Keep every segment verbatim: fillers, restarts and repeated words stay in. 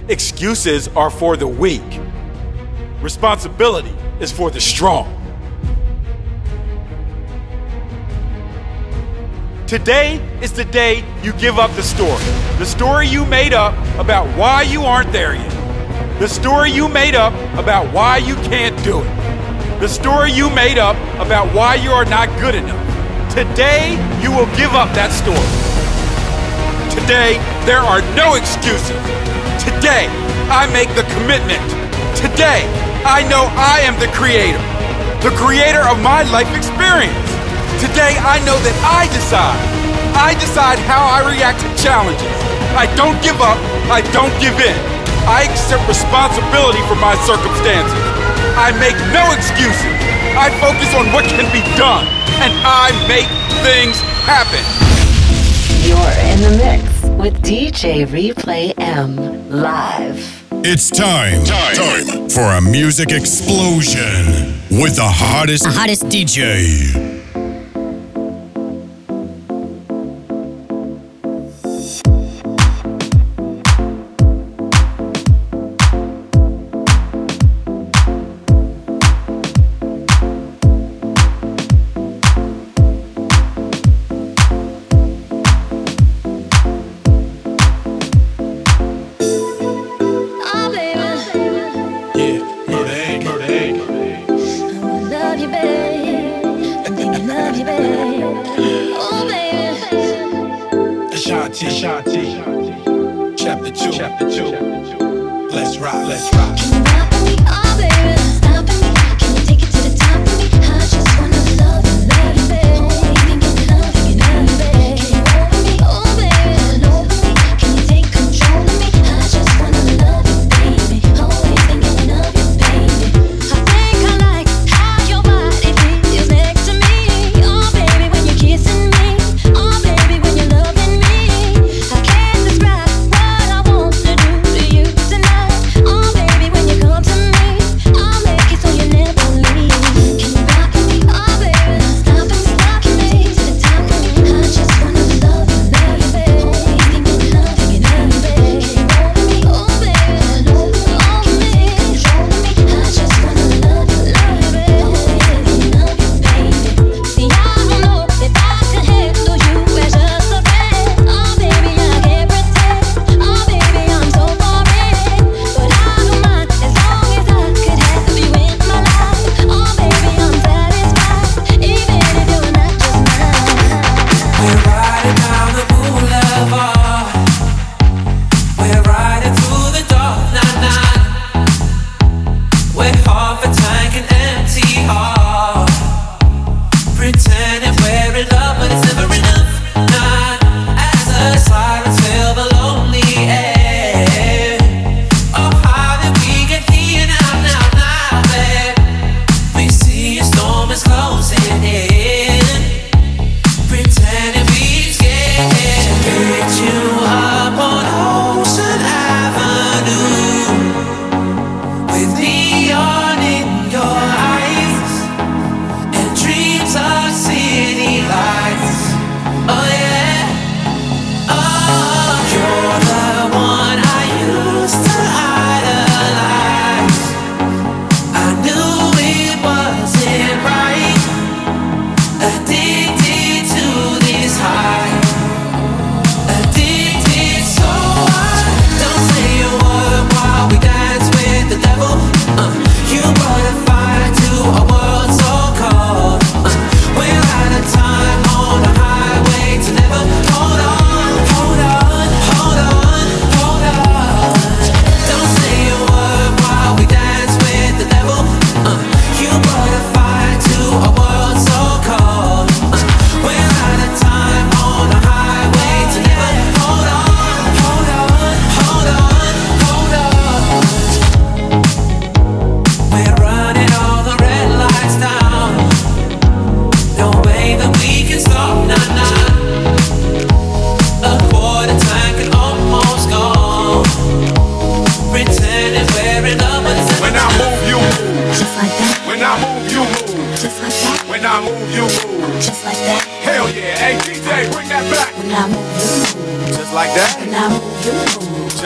Excuses are for the weak. Responsibility is for the strong. Today is the day you give up the story. The story you made up about why you aren't there yet. The story you made up about why you can't do it. The story you made up about why you are not good enough. Today, you will give up that story. Today, there are no excuses. Today, I make the commitment. Today, I know I am the creator, the creator of my life experience. Today, I know that I decide. I decide how I react to challenges. I don't give up. I don't give in. I accept responsibility for my circumstances. I make no excuses. I focus on what can be done, and I make things happen. You're in the mix with D J Replay M live. It's time, time, time for a music explosion with the hottest, the hottest D J. Chapter two, chapter two. Let's rock, let's rock. Can you rap with me, oh baby? Stop with me. Can you take it to the top with me? I just wanna love you, love you, baby. Oh, thinking love you, love you, baby. Can you roll with me, oh baby? Roll with me. Can you take control of me? I just wanna love you, baby. Always thinking of you, baby. I think I like how your body feels next to me. Oh baby, when you're kissing me. Oh baby, when you're loving me. I can't describe what I want to do to you tonight. Oh baby, when you come to me, I'll make it so you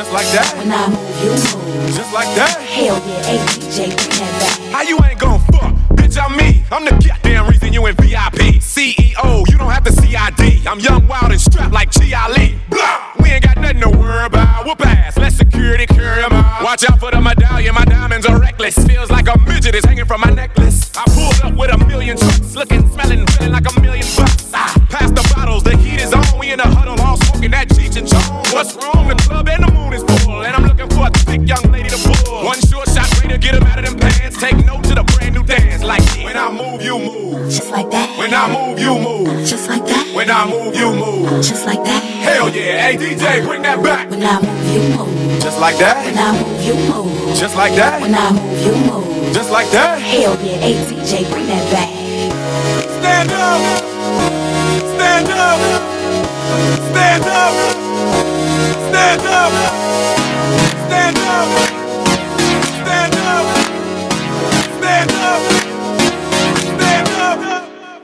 Just like that. When I move, you move. Just like that. Hell yeah, hey D J, bring that back. How you ain't gon' fuck? Bitch, I'm me. I'm the goddamn reason you in V I P. C E O, you don't have to C I D. I'm young, wild, and strapped like G Ali. Blah! We ain't got nothing to worry about. Whoop ass, let security carry 'em out. Watch out for the medallion, my diamonds are reckless. Feels like a midget is hanging from my necklace. I pulled up with a million trucks, looking, smelling, feeling like a million bucks. Ah, pass the bottles, the heat is on. We in the huddle, all smoking that Cheech and Chong. What's wrong? The club and the moon is full, and I'm looking for a thick young lady to pull. One short shot, ready to get 'em out of them pants. Take note to the brand new dance, like when I move, you move. Just like that. When I move, you move. Just like that. When I move, you move. Just like that. Hell yeah, hey D J, bring that back. When I move, you move. Just like that. When I move, you move. Just like that. When I move, you move. Just like that. Hell yeah, hey D J, bring that back. Stand up. Stand up. Stand up. Stand up. Stand up. Stand up. Stand up. Stand up.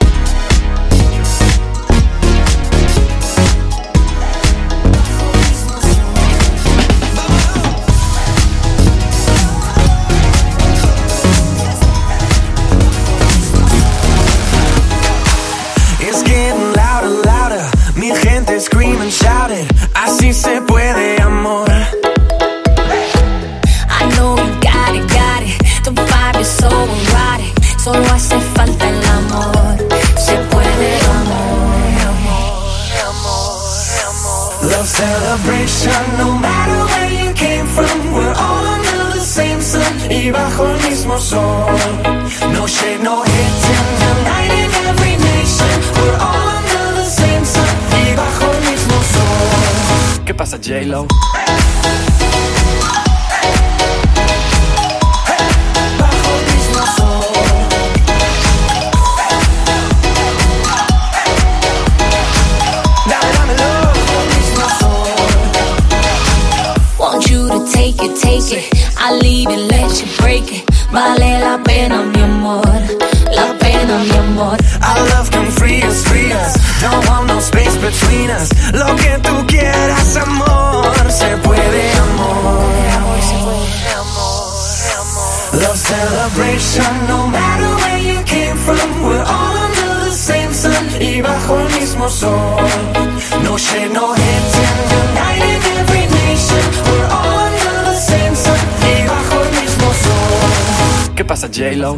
It's getting louder, louder. Mi gente scream and shout it. Así se puede, amor. I know you got it, got it. The vibe is so erotic. Solo hace falta el amor. Se puede, amor, amor, amor, amor. Love celebration, no matter where you came from. We're all under the same sun y bajo el mismo sol. No shade, no hating, uniting every nation. We're all under the same sun y bajo el mismo sol. ¿Qué pasa, J-Lo? Want you to take it, take it. I leave it, let you break it. Vale la pena, mi amor. La pena, mi amor. Our love can free us, free us. Don't want no space between us. Lo que tú quieras, amor. Se puede, amor. Love celebration, no matter where you came from. We're all under the same sun y bajo el mismo sol. No shade, no hating, uniting every nation. We're all under the same sun y bajo el mismo sol. ¿Qué pasa, J-Lo?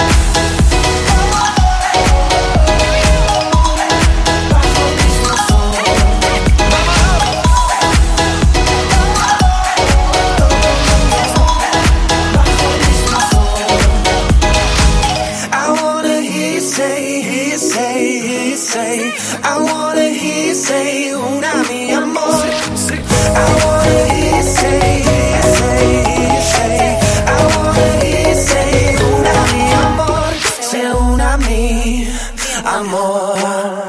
I wanna hear you say, una mi amor. I wanna hear you say, say, say. I wanna hear you say, una mi amor. Say una mi amor.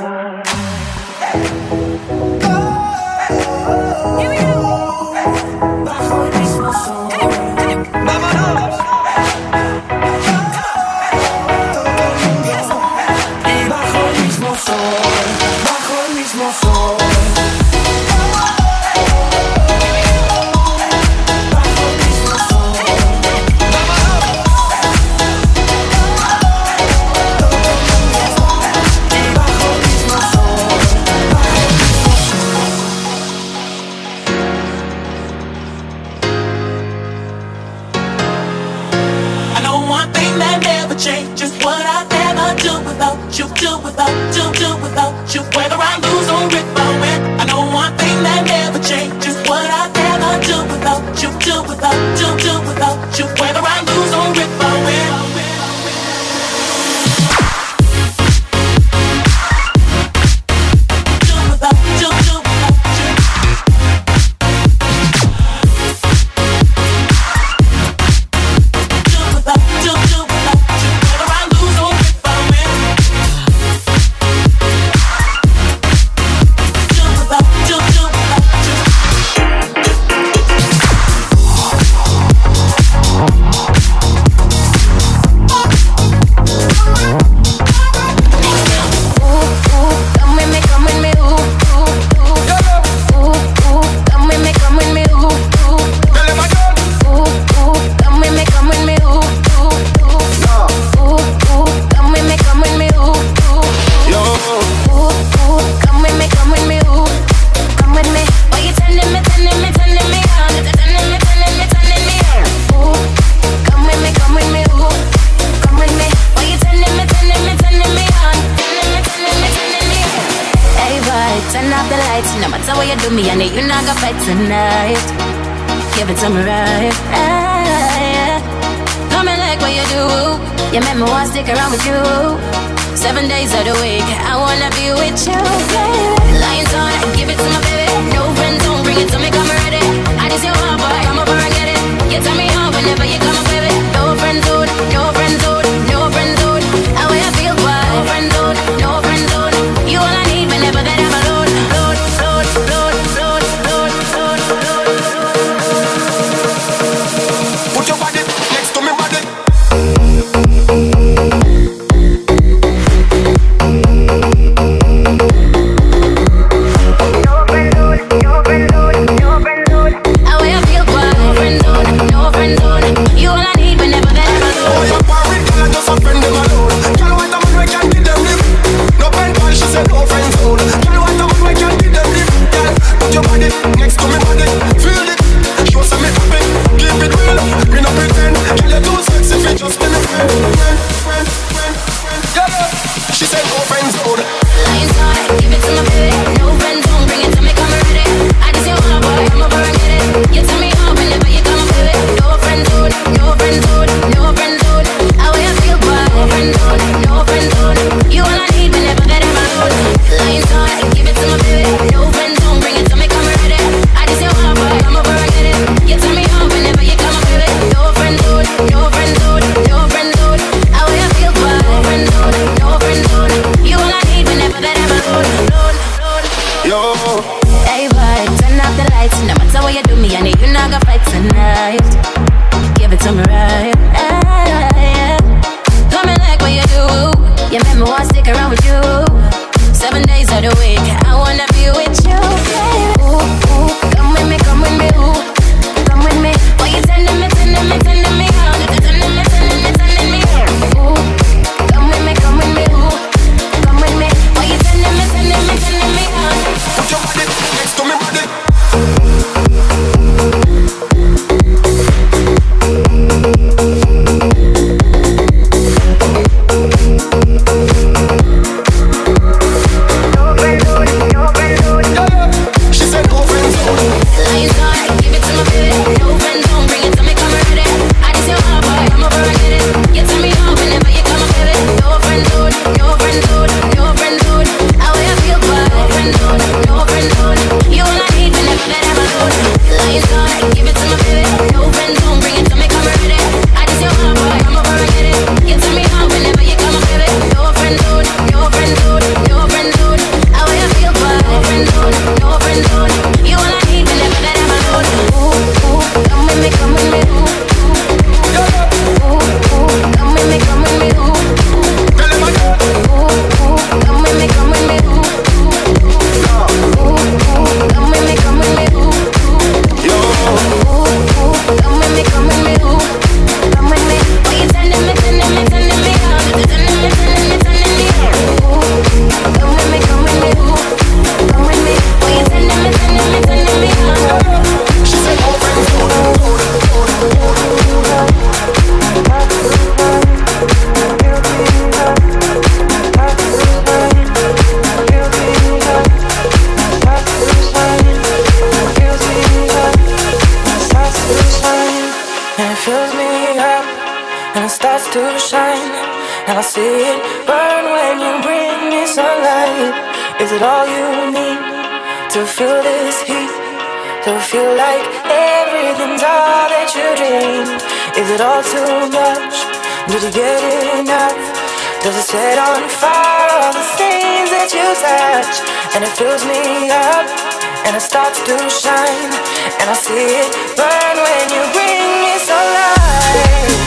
Bajo el mismo sol. Vámonos. Y bajo el mismo sol. Change is what I never do without you, do without, do, do without you. Whether I lose or if I win, I know one thing that never changes. What I never do without you, do without, do, do without you. Whether I lose or if I win. give it to me right. Yeah. Got me like what you do. You make me want to stick around with you. Seven days of the week, I wanna be with you, baby. Lions on, give it to my baby. No friends, don't bring it to me, come ready. I just your heart, boy, come over and get it. You tell me how whenever you come up, baby. No friends, dude, no friends, dude, no friends, dude. How I feel, boy. No friends, dude, no friends, dude. You all I need whenever that I'm alone. Load, load, load, load, load, load, load, load. Put your body next to me body. And it fills me up, and it starts to shine, and I see it burn when you bring me sunlight.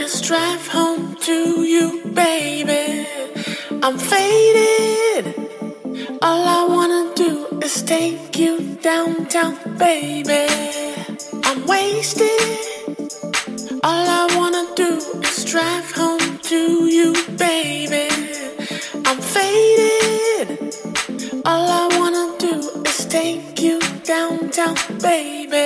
is drive home to you, baby. I'm faded. All I wanna do is take you downtown, baby. I'm wasted. All I wanna do is drive home to you, baby. I'm faded. All I wanna do is take you downtown, baby.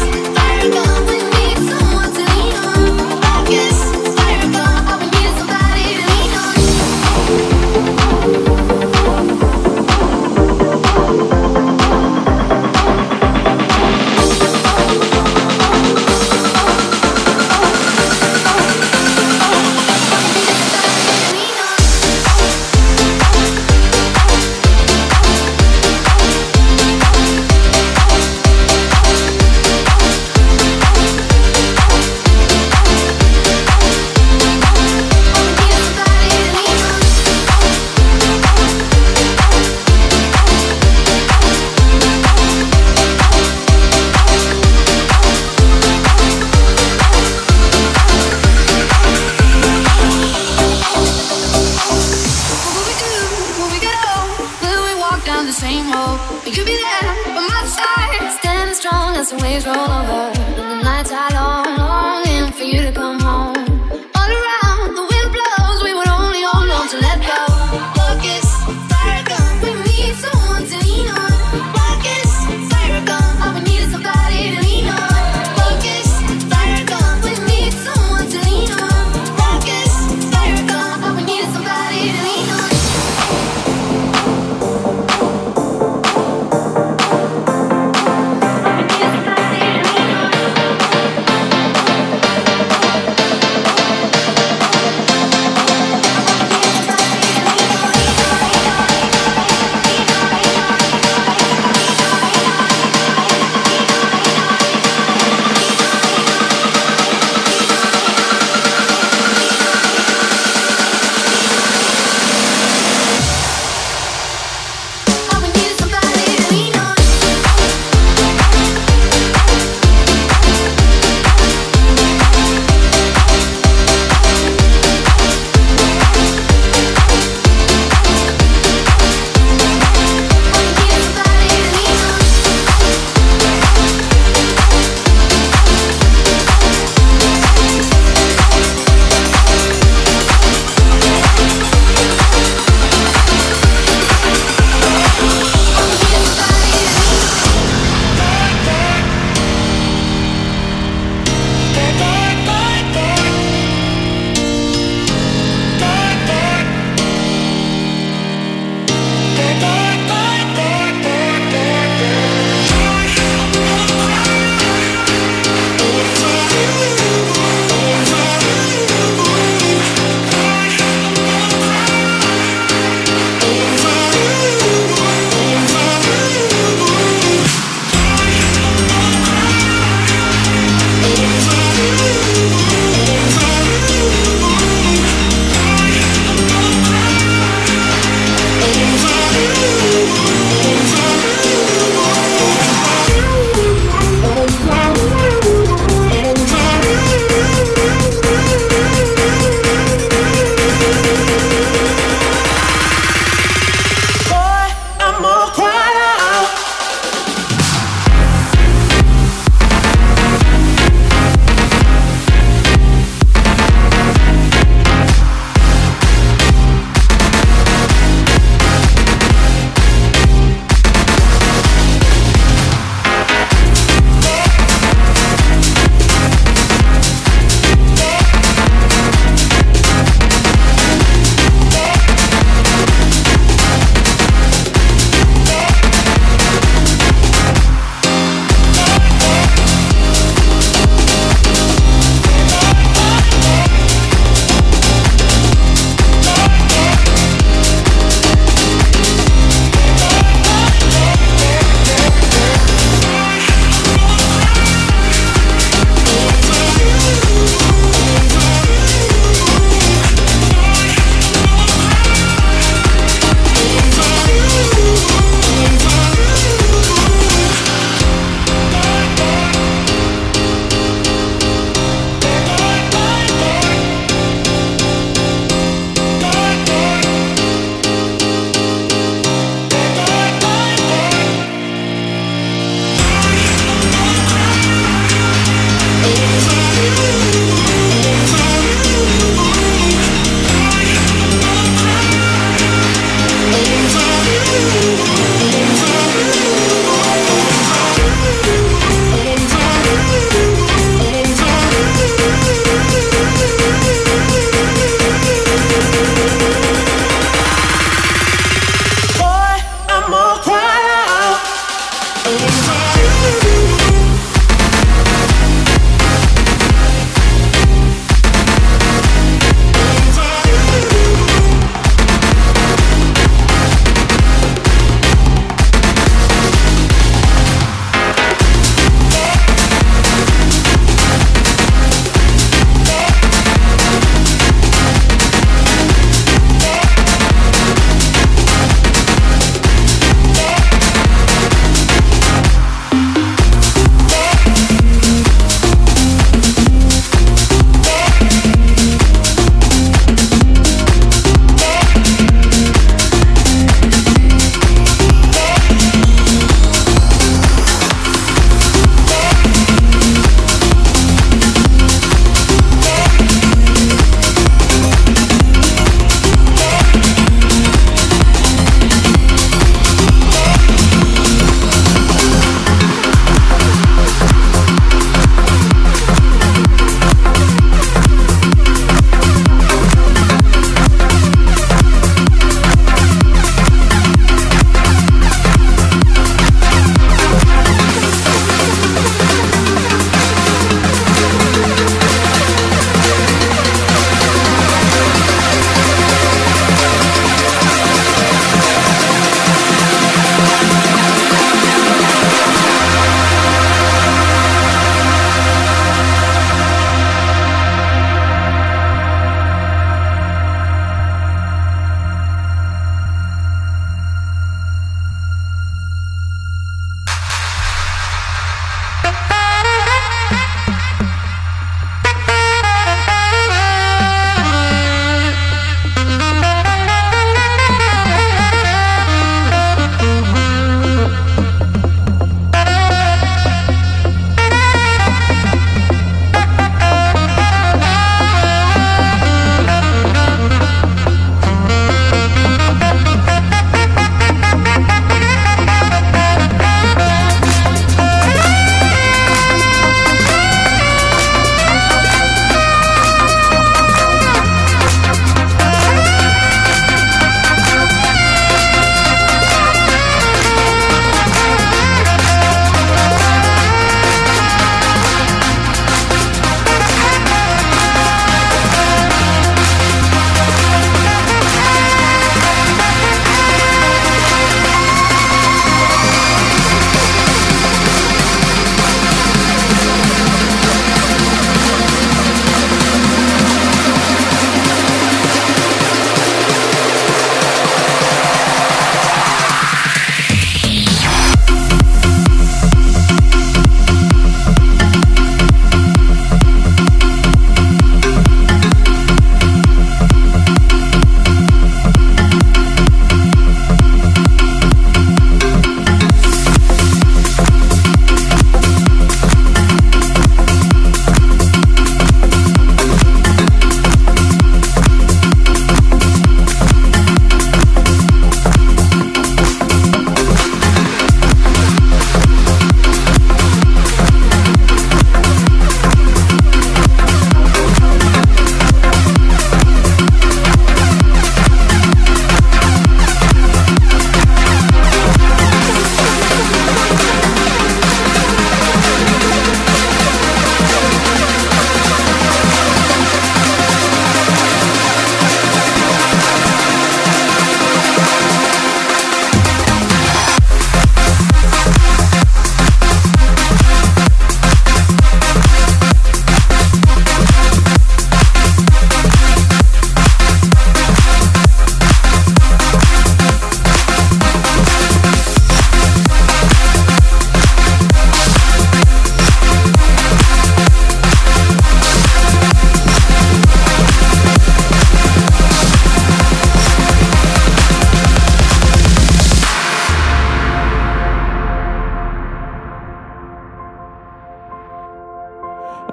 Somebody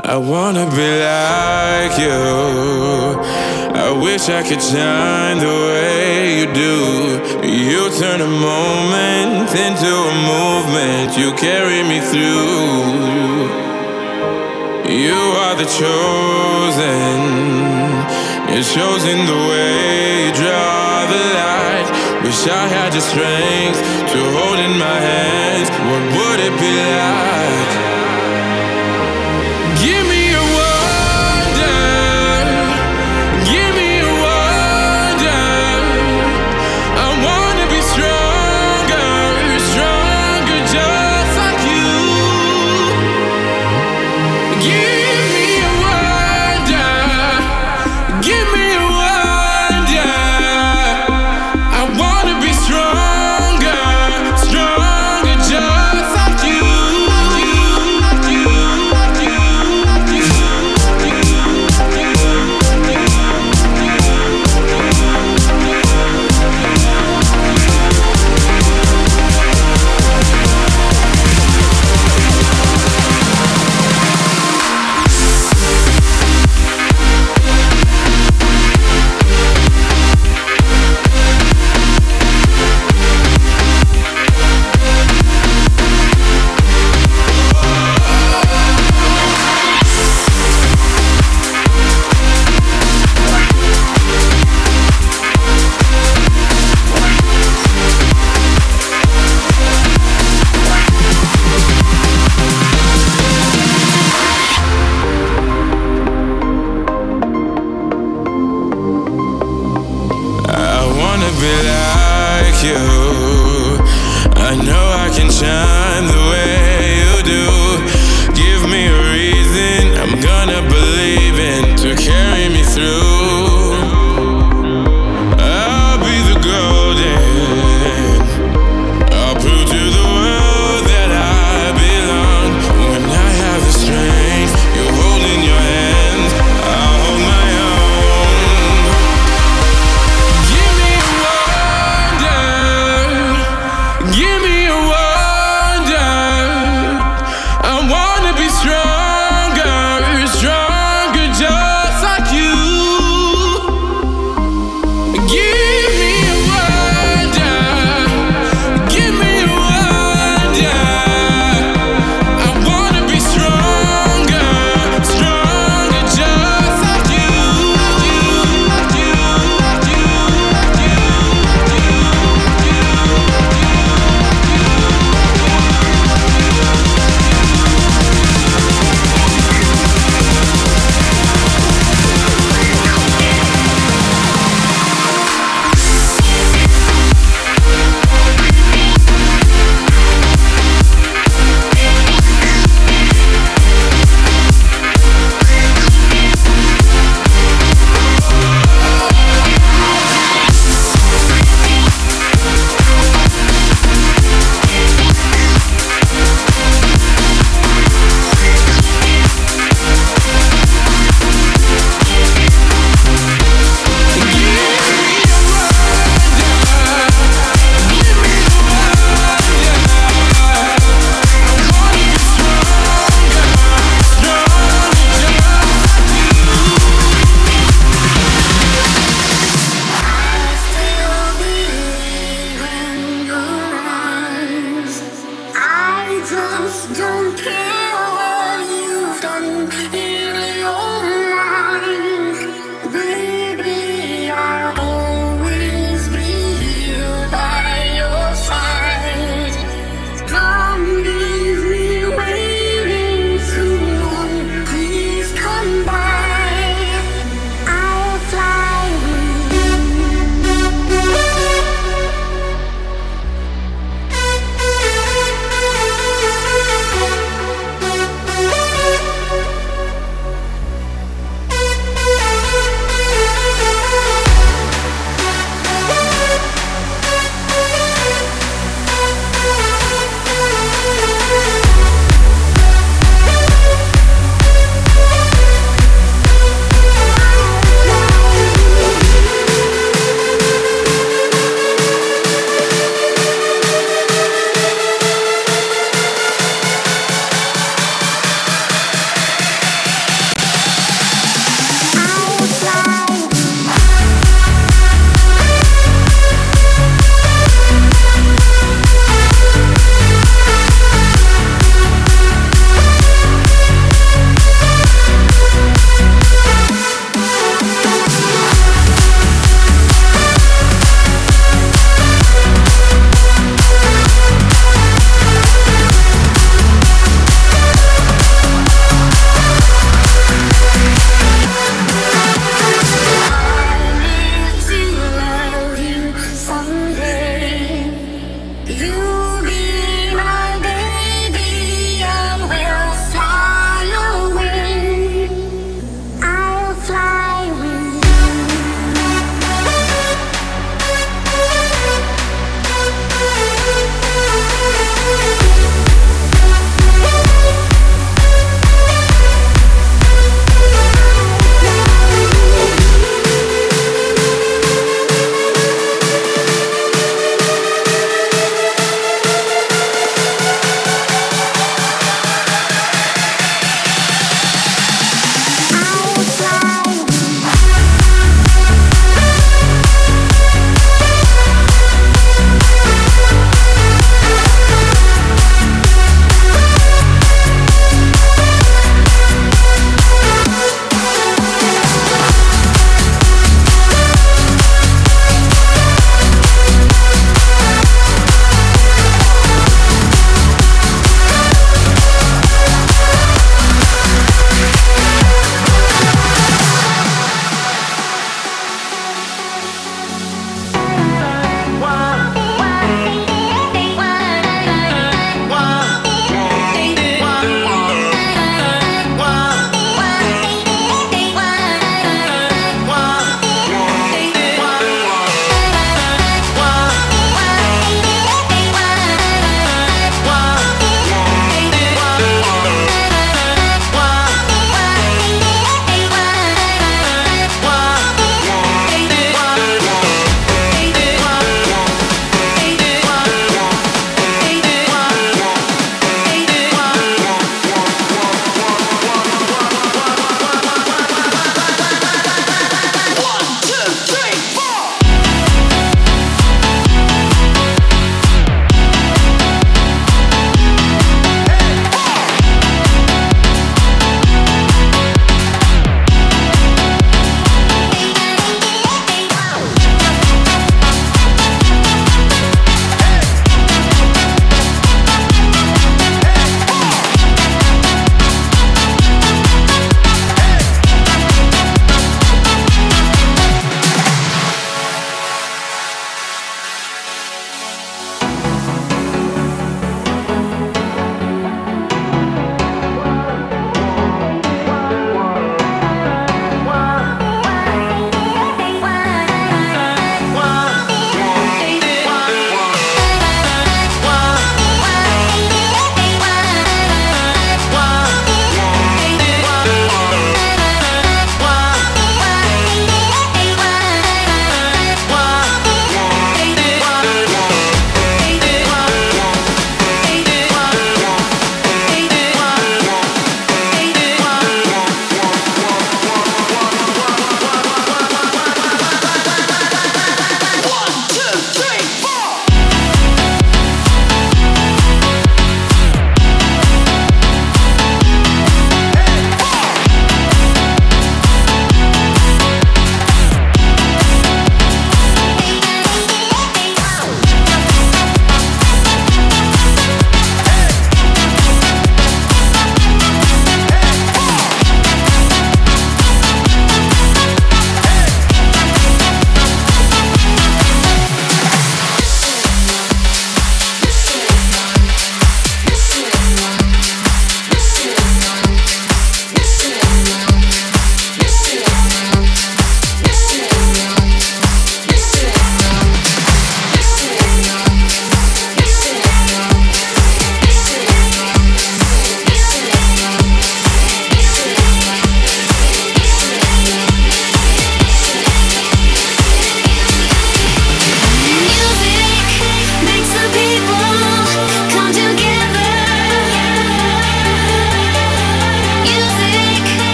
I wanna be like you. I wish I could shine the way you do. You turn a moment into a movement. You carry me through. You are the chosen. You're chosen the way you draw the line. Wish I had the strength to hold in my hands. What would it be like? Give me a wonder. Give me a wonder. I wanna be stronger, stronger just like you. Give me a wonder. Give me a wonder. I wanna be stronger, stronger just like you.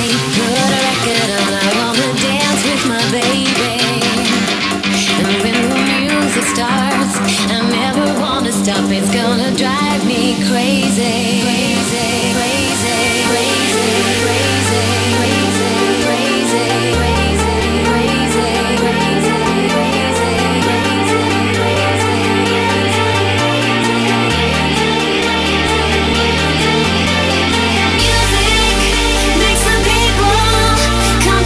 Put a record on, I wanna dance with my baby. And when the music starts, I never wanna stop. It's gonna drive me crazy, crazy, crazy, crazy, crazy, crazy, crazy, crazy, crazy, crazy, crazy, Music makes some people come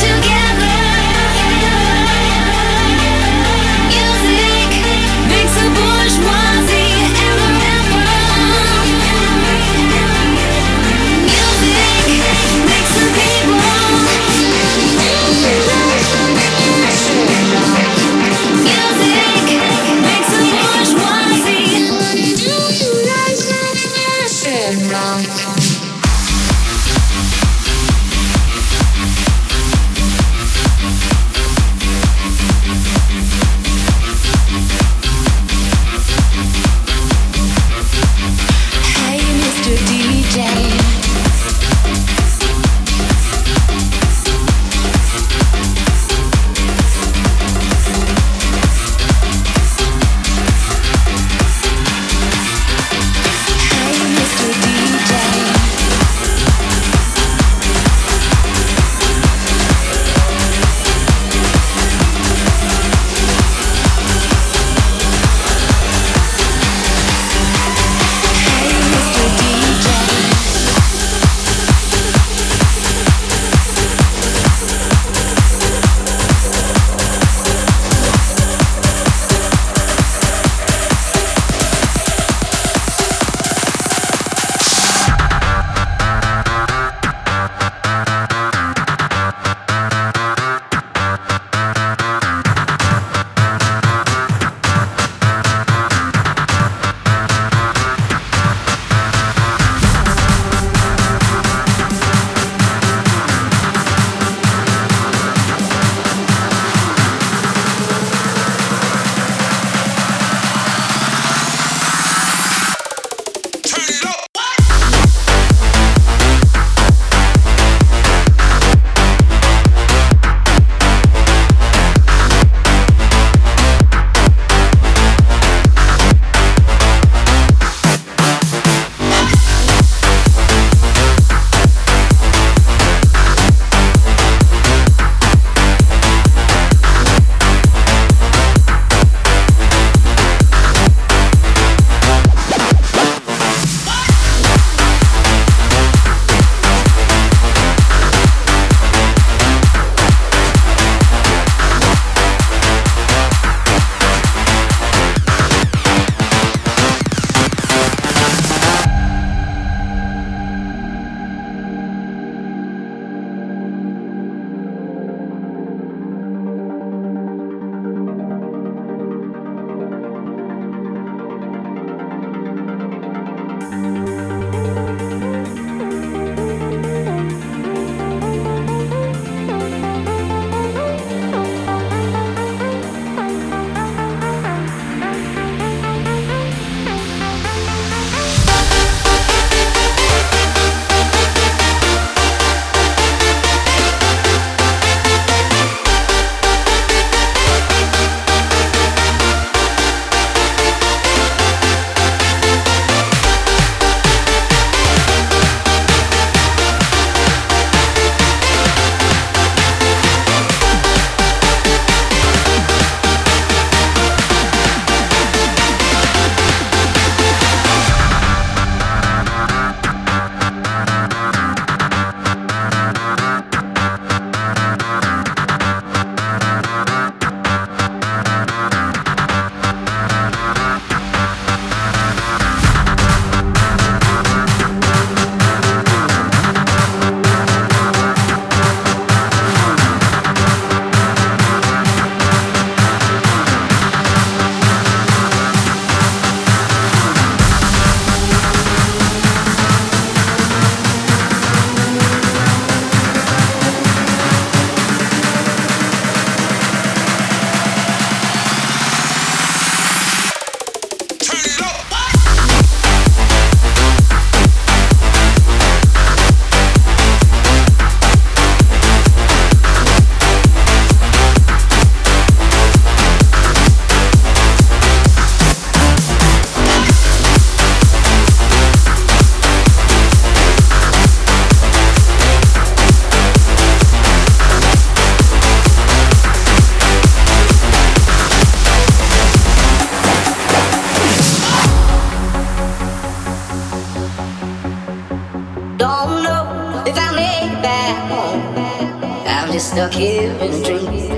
just stuck here in a dream.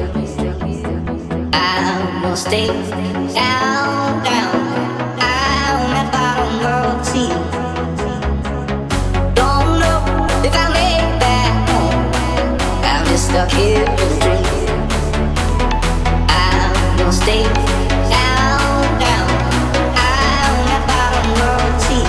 I will stay down, down, down at bottom of the sea. Don't know if I made that home. I'm just stuck here in a dream. I will stay down, down, down at bottom of the sea.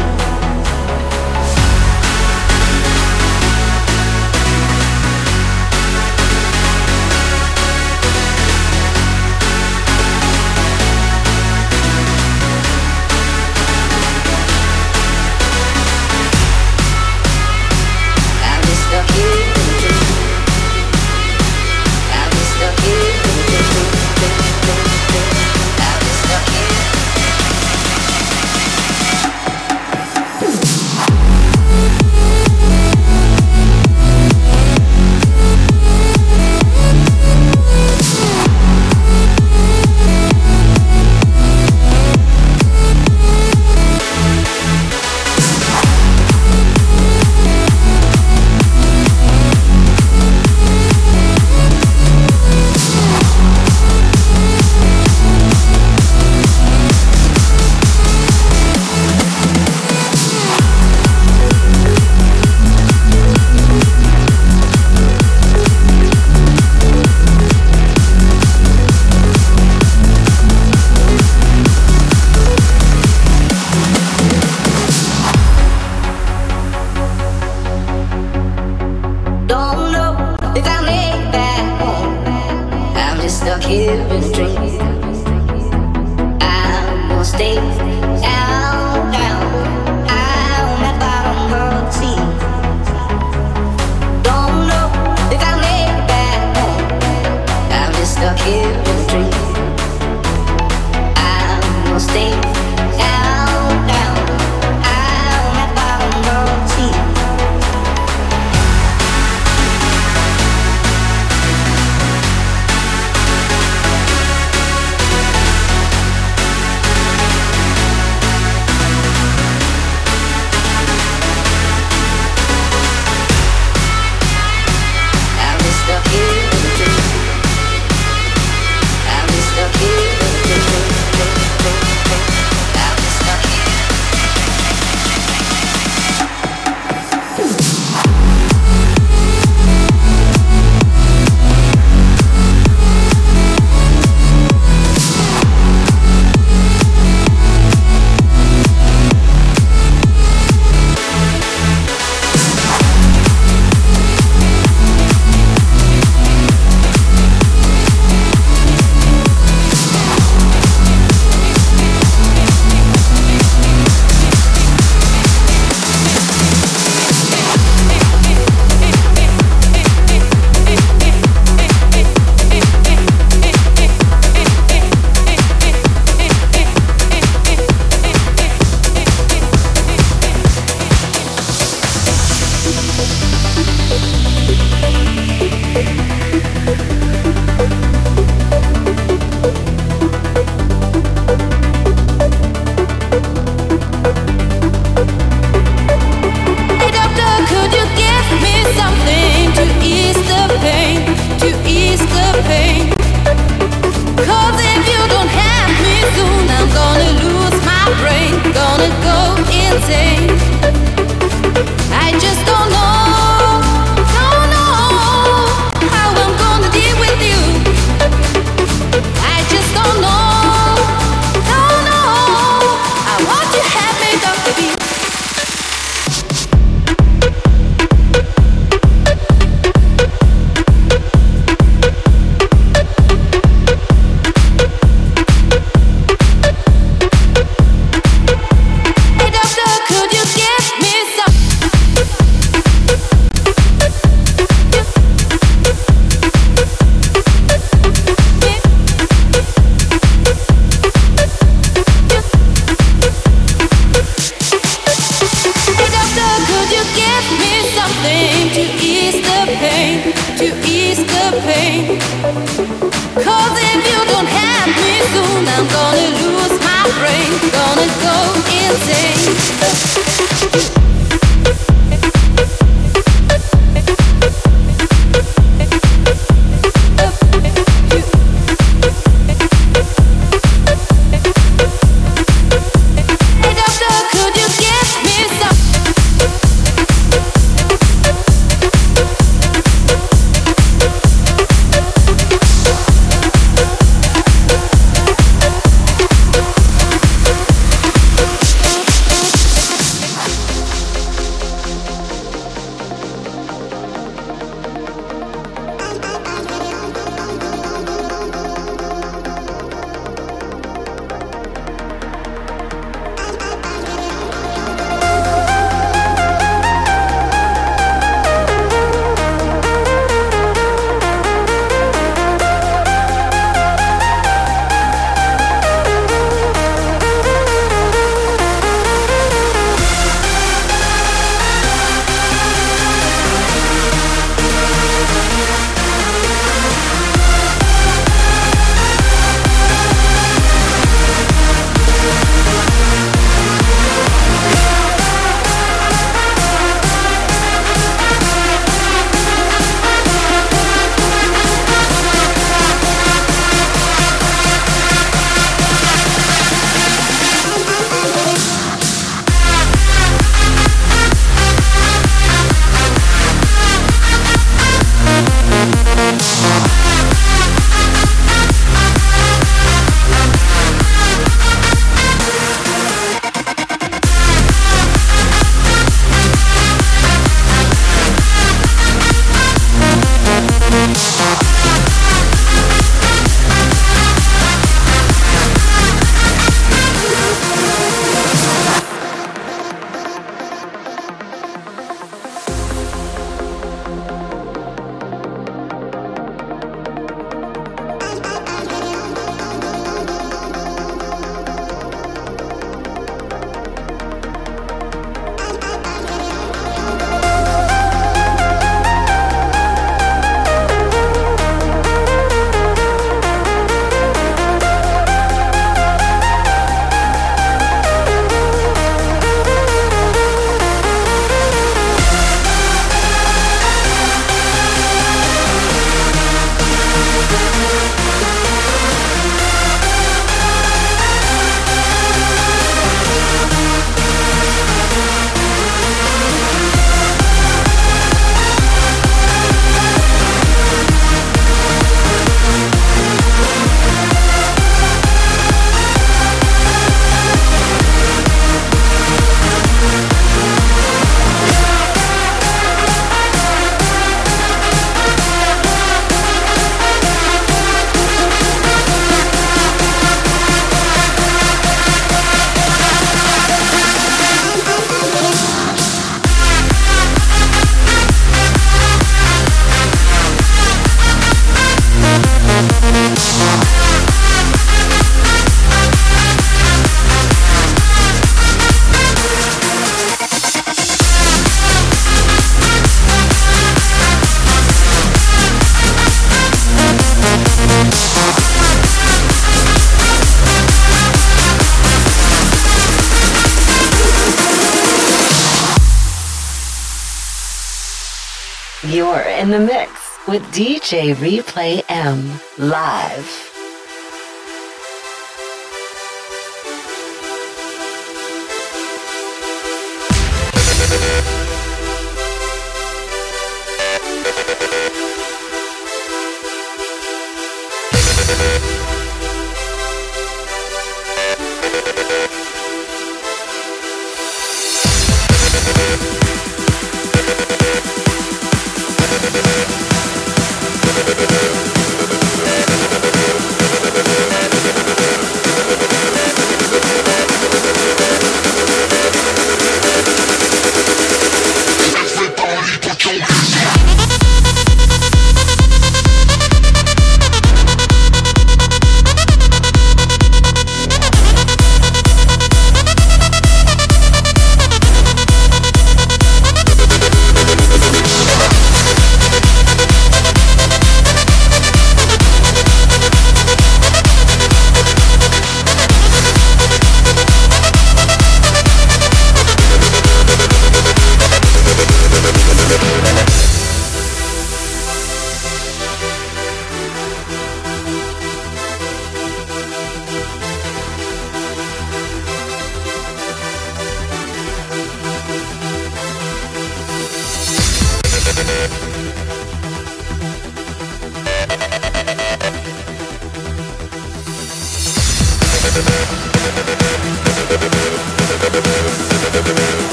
You're in the mix with D J Replay M live.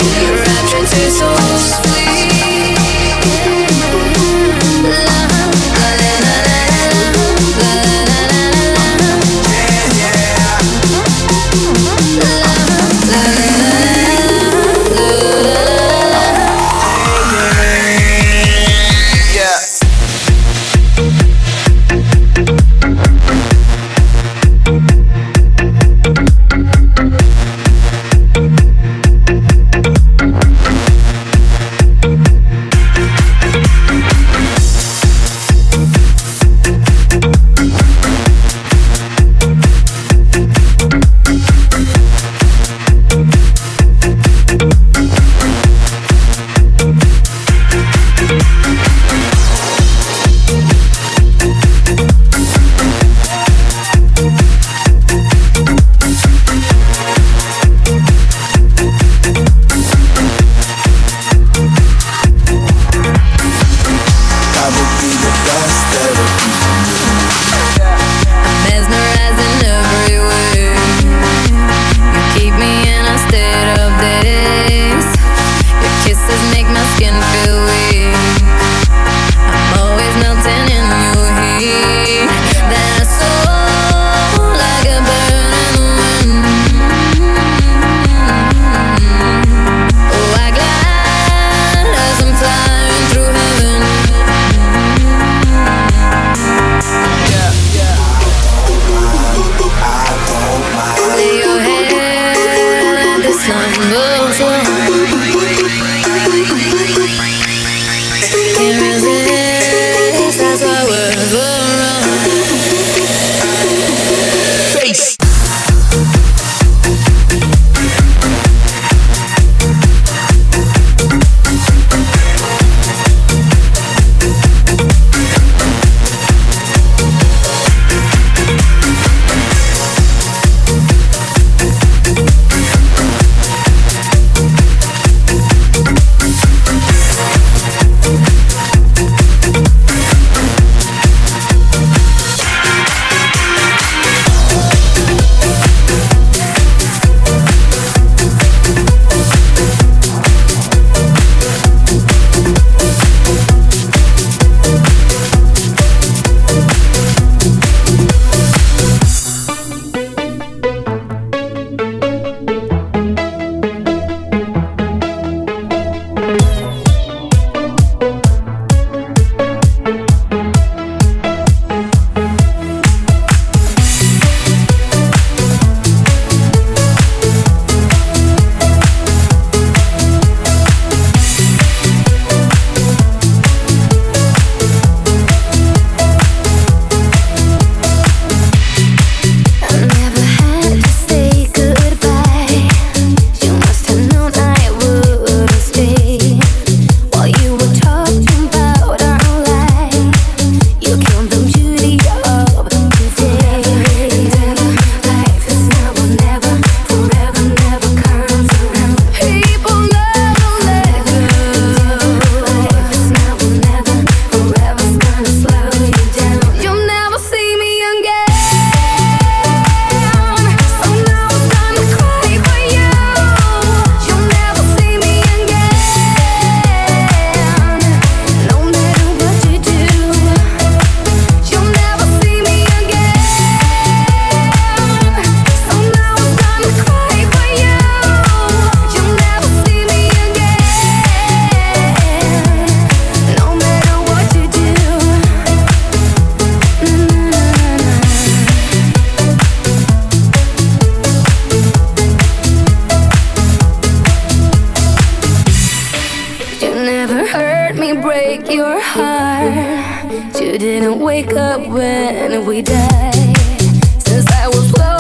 So sweet, love. You didn't wake up when we died. Since I was close